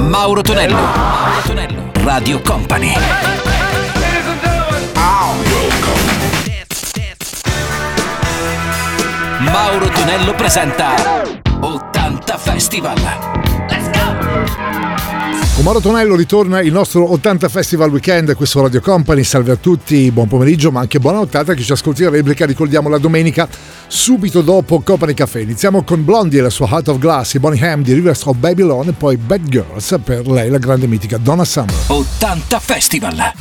Mauro Tonello. Mauro Tonello. Radio Company. Mauro Tonello presenta 80 Festival. Let's go! Con Mauro Tonello ritorna il nostro 80 Festival Weekend qui su Radio Company. Salve a tutti, buon pomeriggio ma anche buona nottata a chi ci ascolti la replica. Ricordiamo la domenica subito dopo Company Café. Iniziamo con Blondie e la sua Heart of Glass, i Boney M di Rivers of Babylon e poi Bad Girls, per lei la grande mitica Donna Summer. 80 Festival.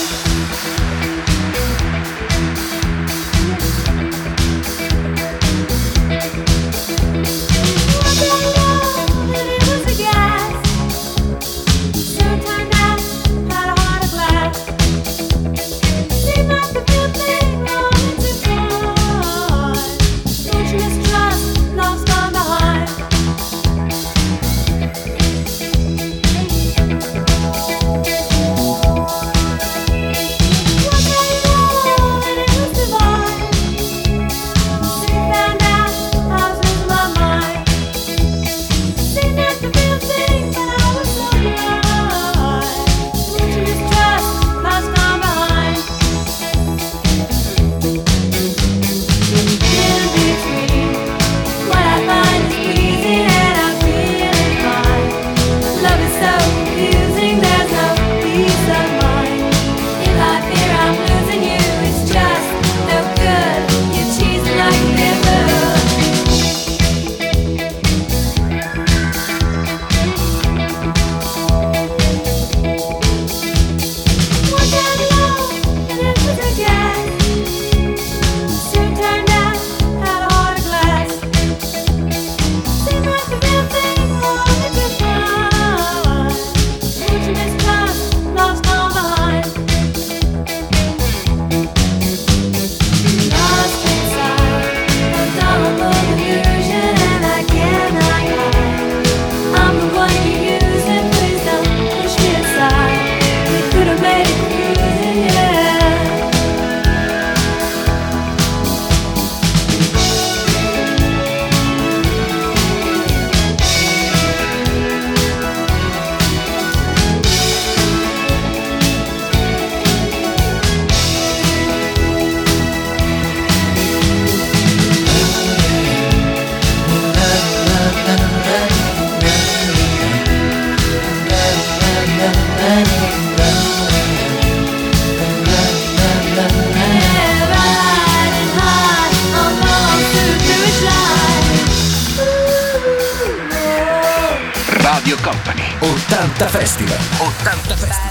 Radio Company. 80 Festival. 80 Festival.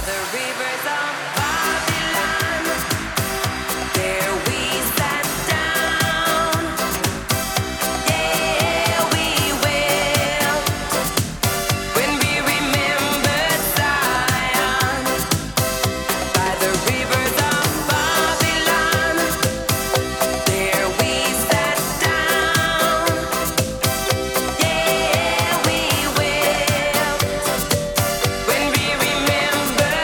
Remember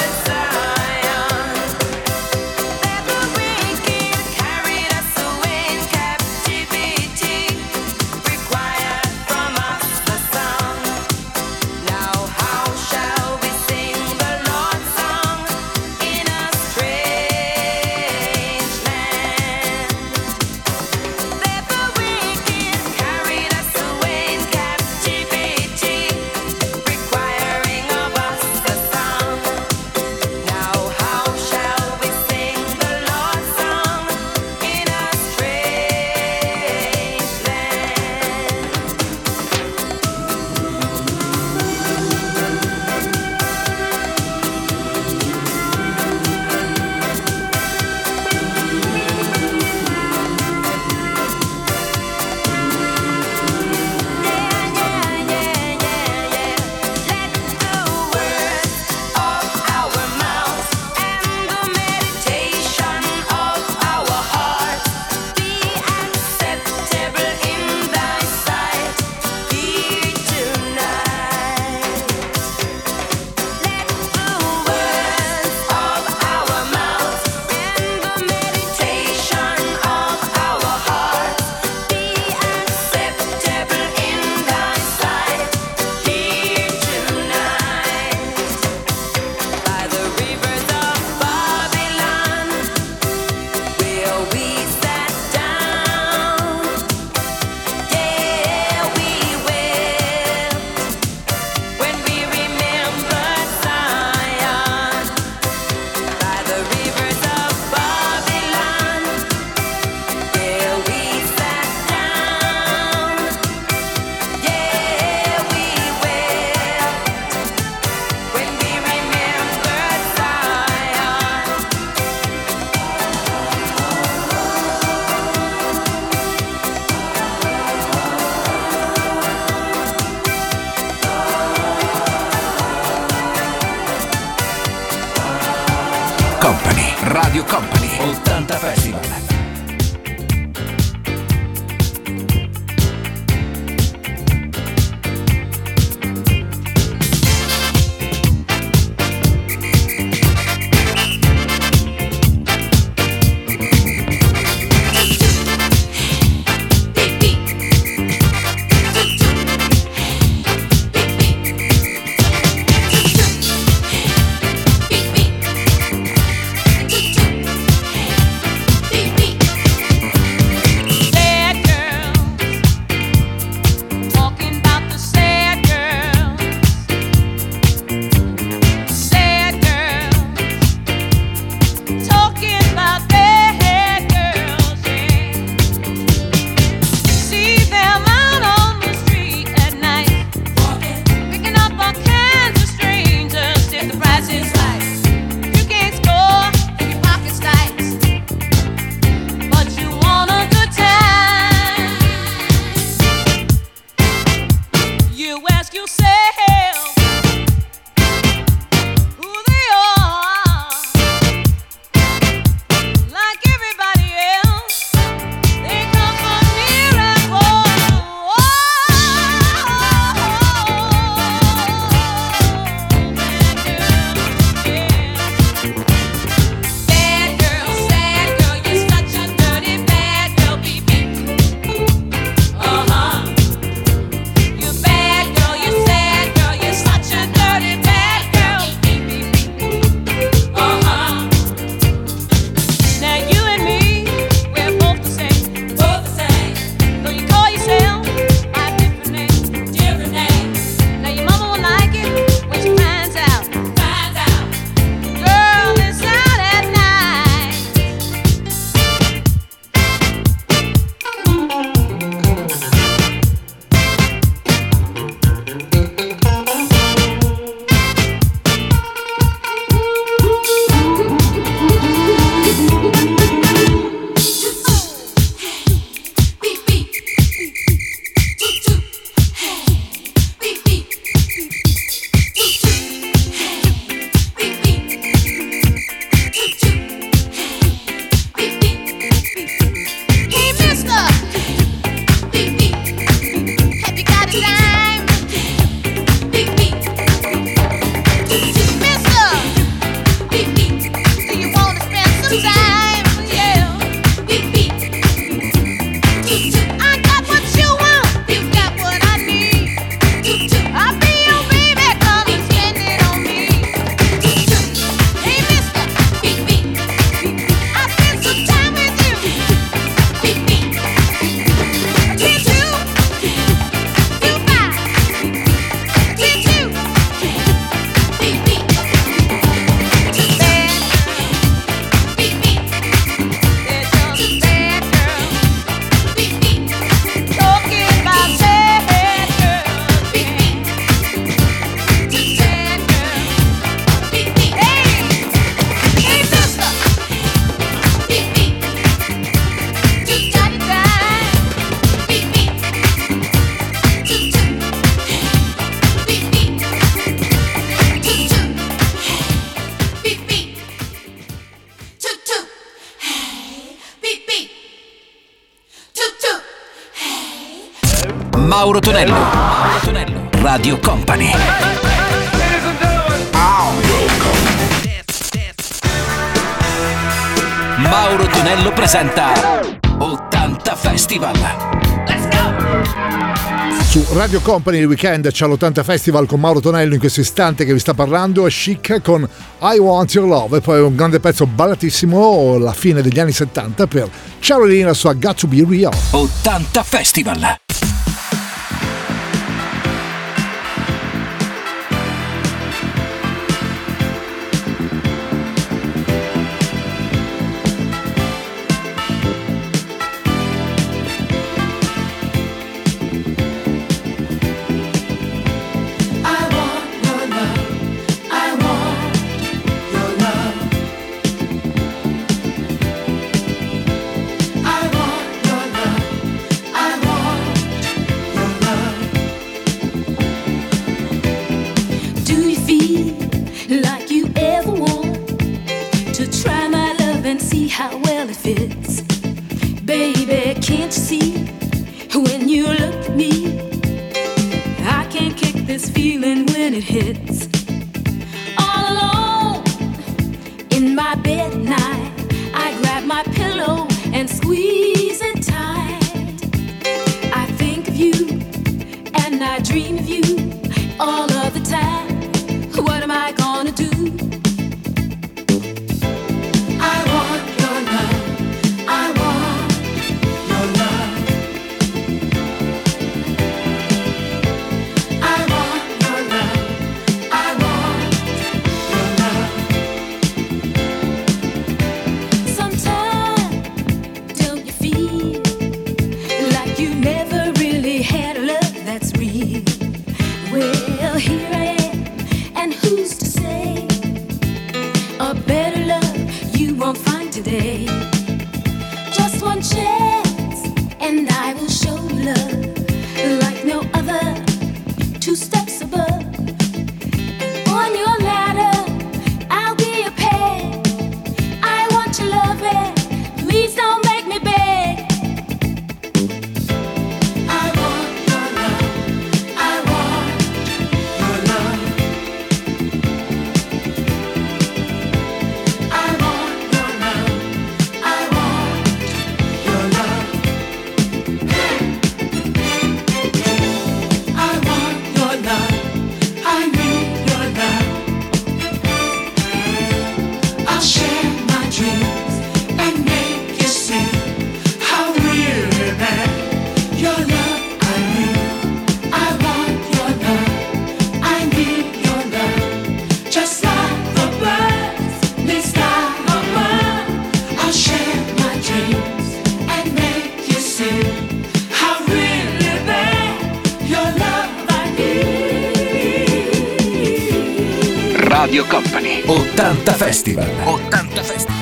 Radio Company 80 Festival. Mauro Tonello. Mauro Tonello. Radio Company. Mauro Tonello presenta 80 Festival. Let's go! Su Radio Company il weekend c'è l'80 Festival con Mauro Tonello. In questo istante che vi sta parlando è Chic con I Want Your Love, e poi un grande pezzo ballatissimo, la fine degli anni 70, per Charlie la sua Got to Be Real. 80 Festival. I want my bed at night, I grab my pillow and squeeze it tight. I think of you and I dream of you all of the time. What am I gonna do? I want your love. I want your love. I want your love. I want your love. Sometimes don't you feel like you never really had a love that's real? Well, here I am, and who's to say a better love you won't find today? Just one chance, and I will show you love like no other. 2 steps above, and on your ladder, I'll be a peg. I want your love, and please don't make me beg. I want your love. I want your love. I want your love. I want your love. I want your love. I need your love. I'll share my dreams and make you see how really bad your love I need. I want your love. I need your love. Just like the birds need sky above. I'll share my dreams and make you see how really bad your love I need. Radio Company 80 Festival. 80 Festival.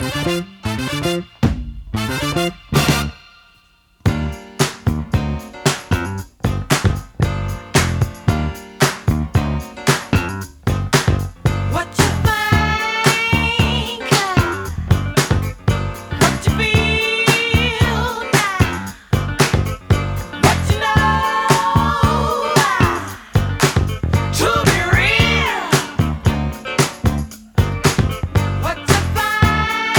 What you think, what you feel now, what you know, to be real. What you find.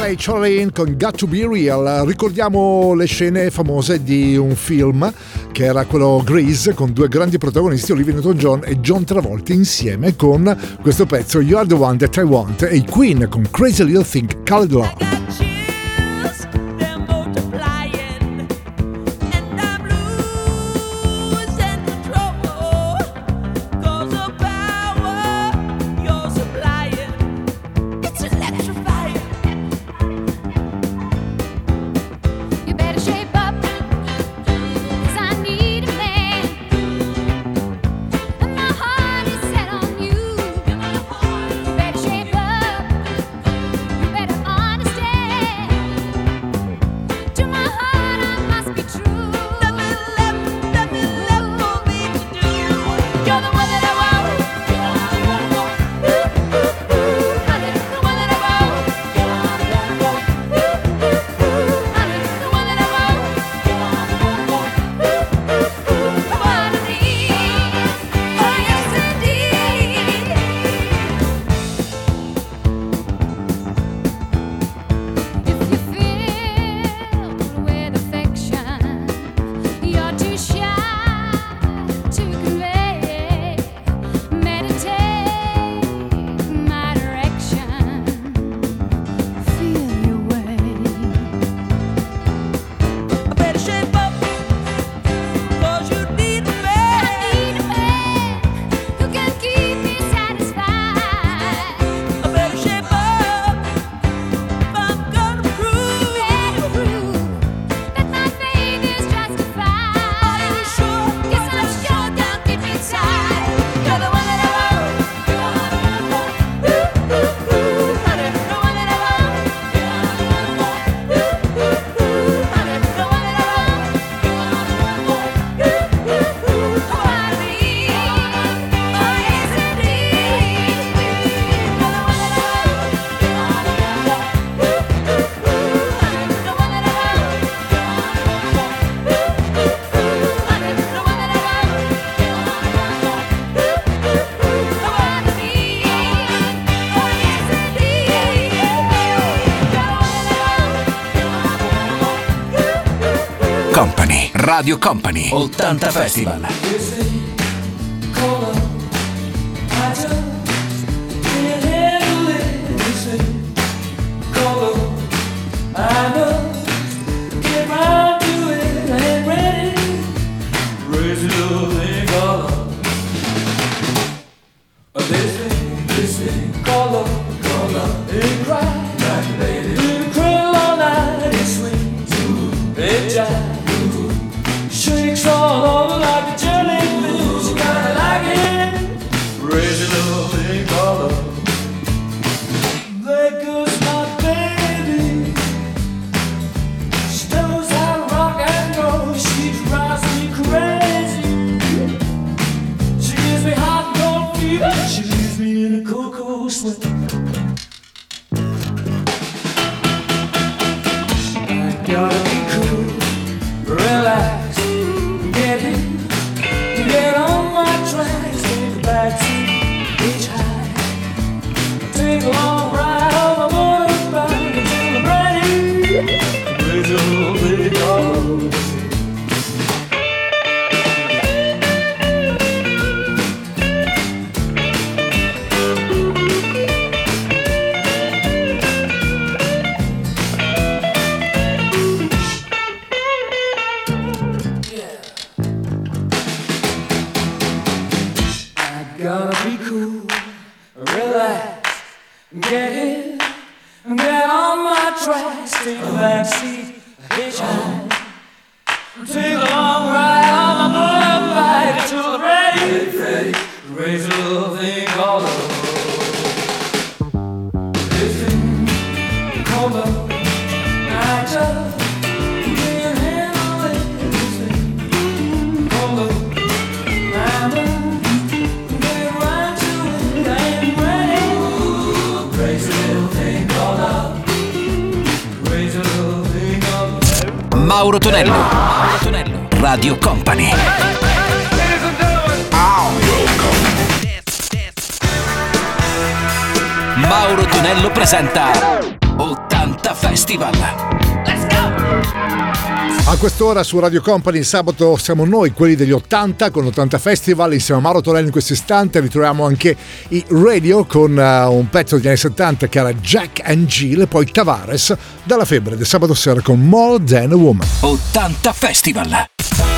lei Charlene con Got to Be Real. Ricordiamo le scene famose di un film che era quello Grease, con due grandi protagonisti, Olivia Newton-John e John Travolta, insieme con questo pezzo You Are the One That I Want, e i Queen con Crazy Little Thing Called Love. Company, Radio Company, 80 Festival. Shakes all over like a jellyfish. You gotta like it. Raise it up in color. There goes my baby. She knows how to rock and roll. She drives me crazy. She gives me hot and cold fever. She leaves me in a cocoa sweat. I gotta be cool, relax, get in, get on my tracks, take a backseat, hitchhike, take a long ride on my motorbike until I'm ready. Raise a little bit of gotta be cool, relax, get in, get on my tracks, take a backseat, hitchhike, take a long ride on my motorbike until I'm ready, raise a little thing called love. This thing called love, I just can't handle it. This thing called love, I love. Mauro Tonello, Mauro Tonello, Radio Company. Mauro Tonello presenta 80 80 Festival. Let's go! A quest'ora su Radio Company il sabato siamo noi, quelli degli 80, con 80 Festival, insieme a Mauro Tonello in questo istante. Ritroviamo anche i Radio con un pezzo degli anni 70 che era Jack and Jill, e poi Tavares dalla Febbre del sabato sera con More Than a Woman. 80 Festival.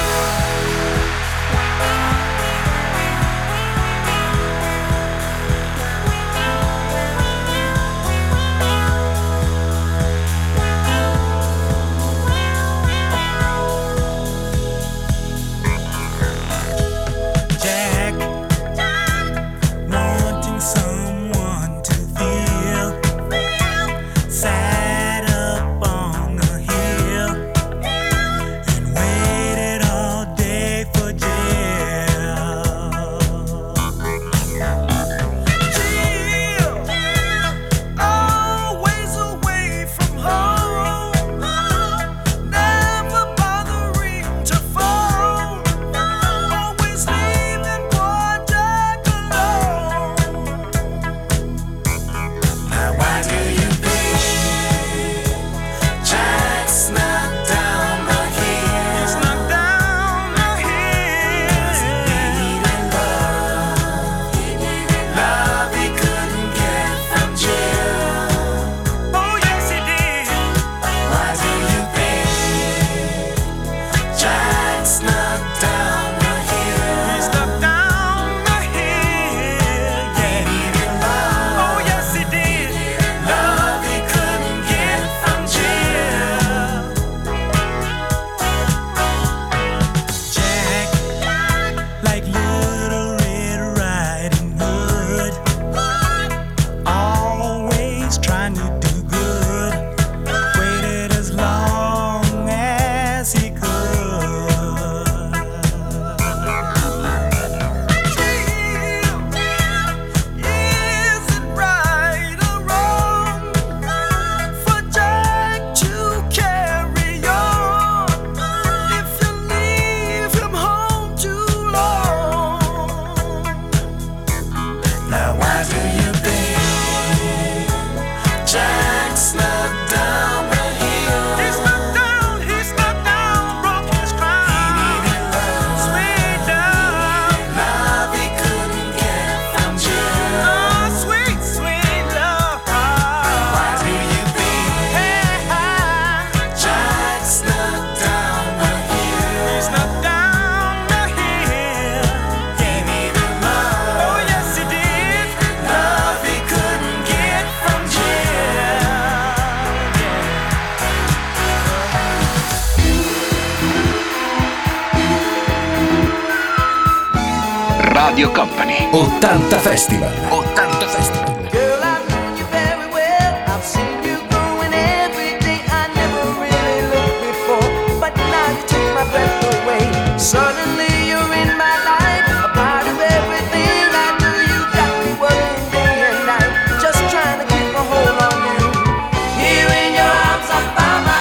Radio Company 80 Festival. 80 Festival. Girl, I know you very well. I've seen you growing every day. I never really looked before, but now you take my breath away. Suddenly you're in my life, a part of everything I do. You got me working day and night, just trying to keep a hold on you. Here in your arms I found my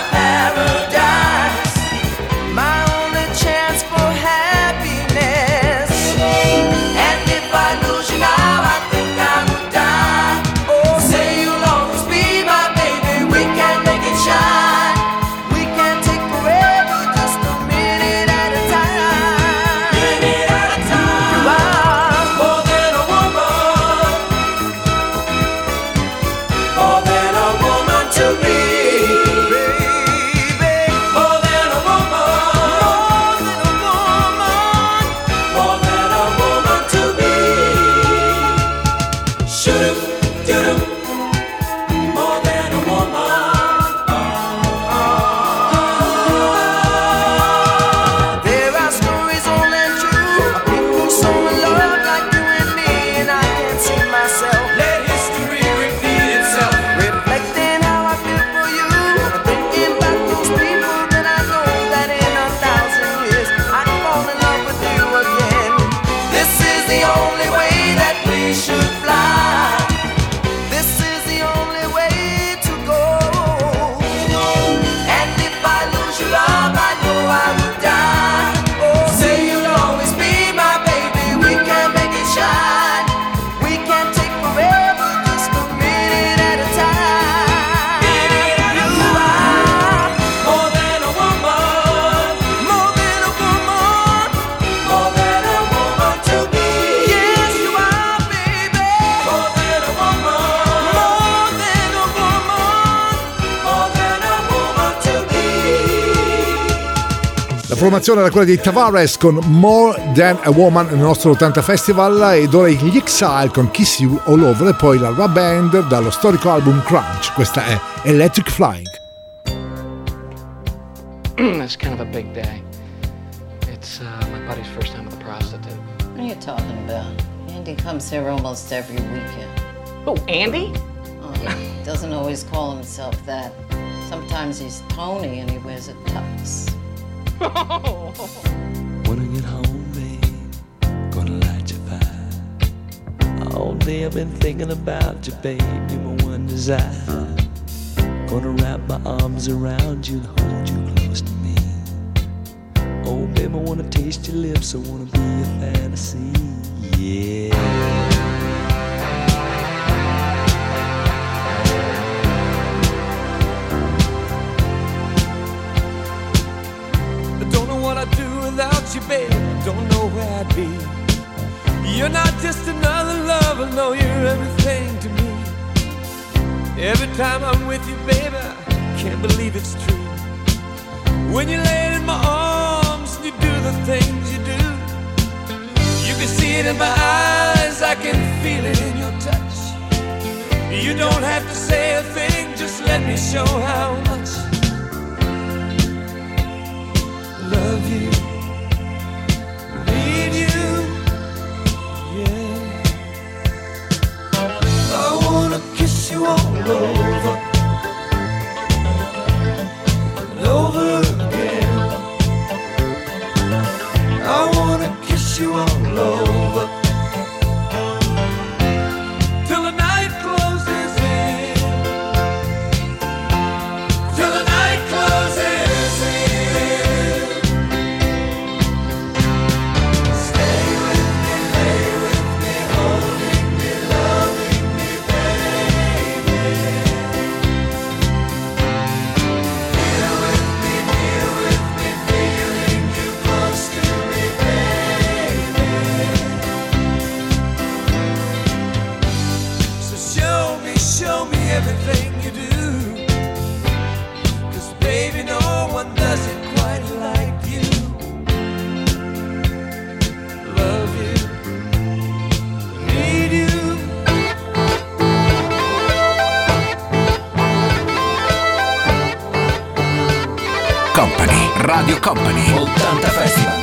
paradise, my only chance for happiness. And if I lose you now, I think La formazione era quella di Tavares con More Than a Woman nel nostro 80 Festival, ed ora gli Exile con Kiss You All Over, e poi la Rub Band dallo storico album Crunch. Questa è Electric Flying. It's kind of a big day. It's my buddy's first time with a prostitute. What are you talking about? Andy comes here almost every weekend. Oh, Andy? Oh, he doesn't always call himself that. Sometimes he's Tony and he wears a tux. When I get home, babe, gonna light your fire. All day I've been thinking about you, babe, you're my one desire. Gonna wrap my arms around you and hold you close to me. Oh, babe, I wanna taste your lips, I wanna be a fantasy, yeah. What I'd do without you, babe, don't know where I'd be. You're not just another lover, no, you're everything to me. Every time I'm with you, baby, I can't believe it's true. When you lay in my arms and you do the things you do, you can see it in my eyes, I can feel it in your touch. You don't have to say a thing, just let me show how much love you, need you, yeah. I wanna kiss you all over and over again. I wanna kiss you all over till the night closes in, till the night closes in. Show me everything you do, 'cause baby, no one does it quite like you. Love you, need you. Company, Radio Company, 80 Festival.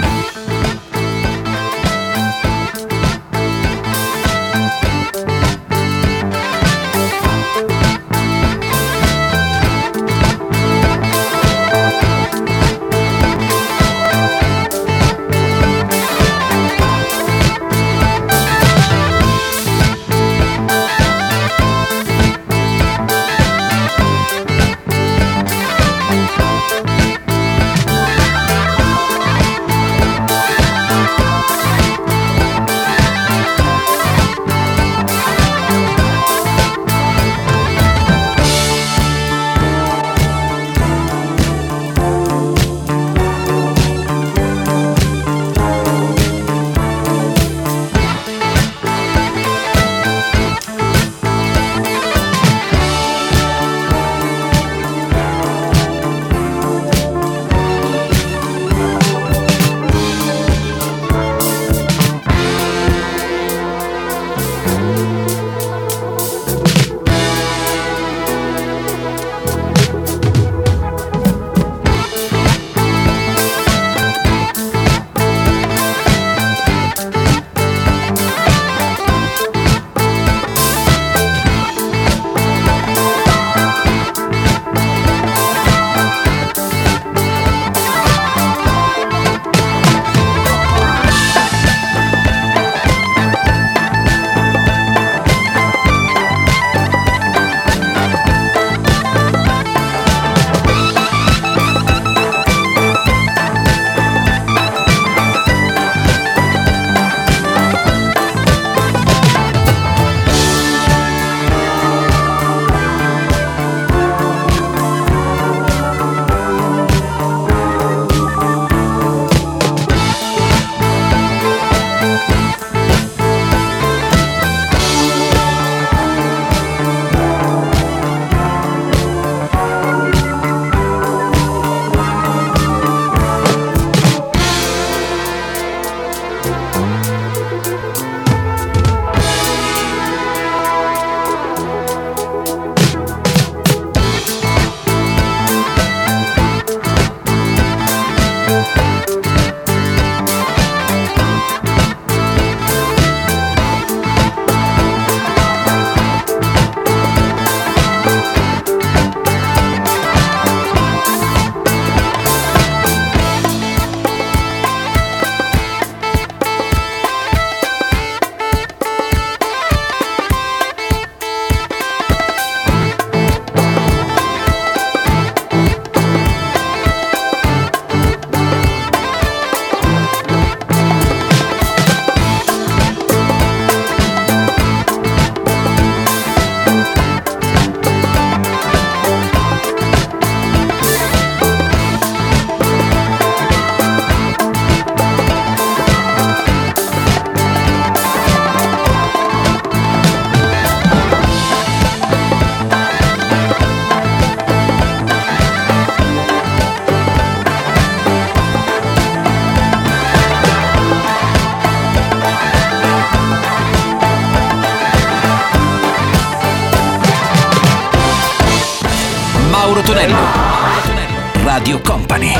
Mauro Tonello. Radio Company.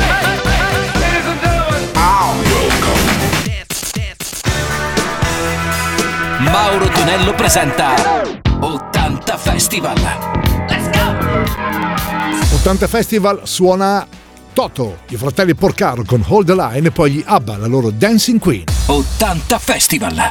Mauro Tonello presenta 80 Festival. Let's go! 80 Festival suona Toto, i fratelli Porcaro con Hold the Line e poi gli ABBA, la loro Dancing Queen. 80 Festival.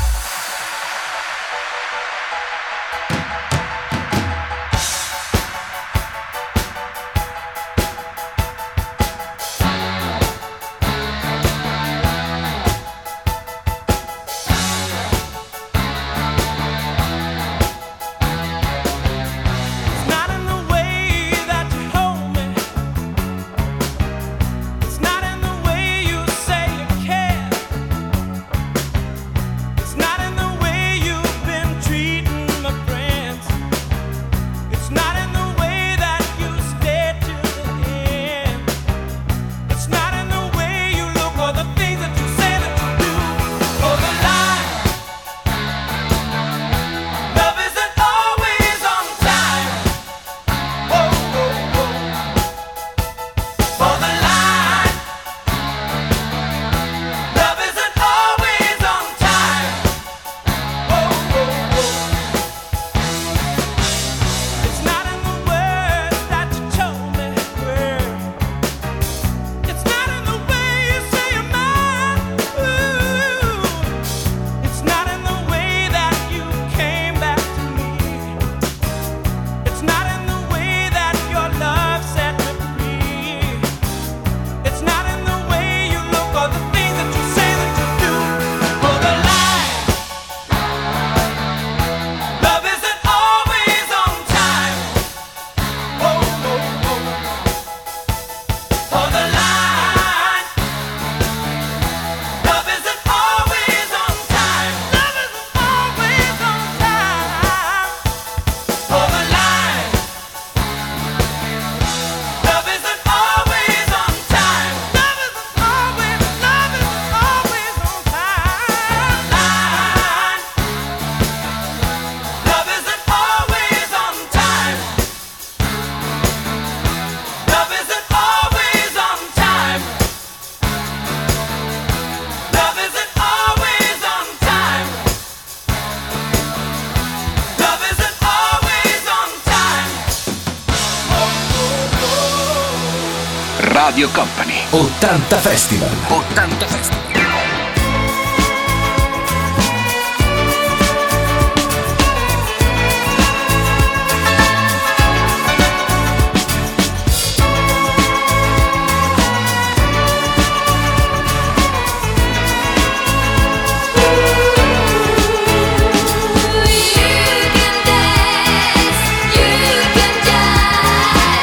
Radio Company. 80 Festival. 80 Festival.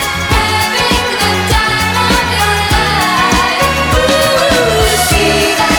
See that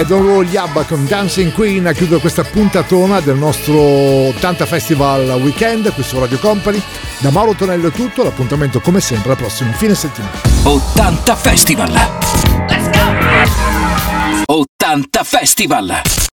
rock and roll, gli ABBA con Dancing Queen a chiudere questa puntatona del nostro 80 Festival Weekend qui su Radio Company. Da Mauro Tonello è tutto, l'appuntamento come sempre al prossimo fine settimana. 80 Festival. Let's go! 80 Festival.